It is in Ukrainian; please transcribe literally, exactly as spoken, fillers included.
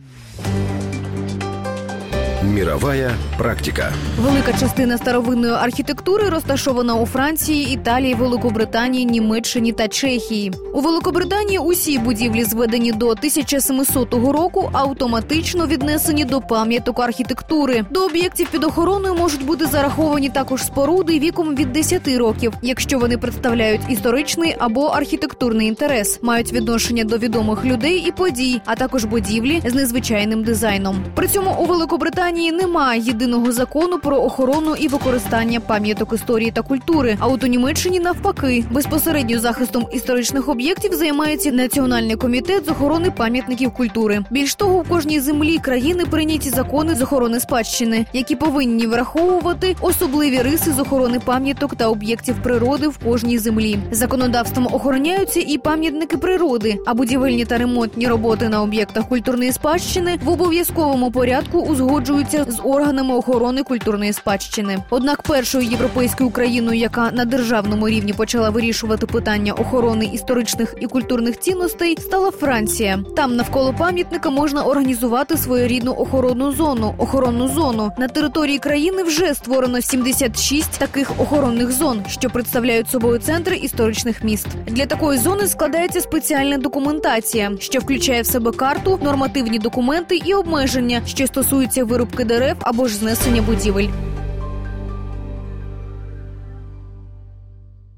Мировая практика. Велика частина старовинної архітектури розташована у Франції, Італії, Великобританії, Німеччині та Чехії. У Великобританії усі будівлі, зведені до тисяча сімсотого року, автоматично віднесені до пам'яток архітектури. До об'єктів під охороною можуть бути зараховані також споруди віком від десяти років, якщо вони представляють історичний або архітектурний інтерес, мають відношення до відомих людей і подій, а також будівлі з незвичайним дизайном. При цьому у Великобританії немає єдиного закону про охорону і використання пам'яток історії та культури, а от у Німеччині навпаки. Безпосередньо захистом історичних об'єктів займається Національний комітет з охорони пам'ятників культури. Більш того, у кожній землі країни прийняті закони з охорони спадщини, які повинні враховувати особливі риси з охорони пам'яток та об'єктів природи в кожній землі. Законодавством охороняються і пам'ятники природи, а будівельні та ремонтні роботи на об'єктах культурної спадщини в обов'язковому порядку узгоджуються з органами охорони культурної спадщини. Однак першою європейською країною, яка на державному рівні почала вирішувати питання охорони історичних і культурних цінностей, стала Франція. Там навколо пам'ятника можна організувати своєрідну охоронну зону. Охоронну зону. На території країни вже створено сімдесят шість таких охоронних зон, що представляють собою центри історичних міст. Для такої зони складається спеціальна документація, що включає в себе карту, нормативні документи і обмеження, що стосуються вирубки дерев або ж знесення будівель.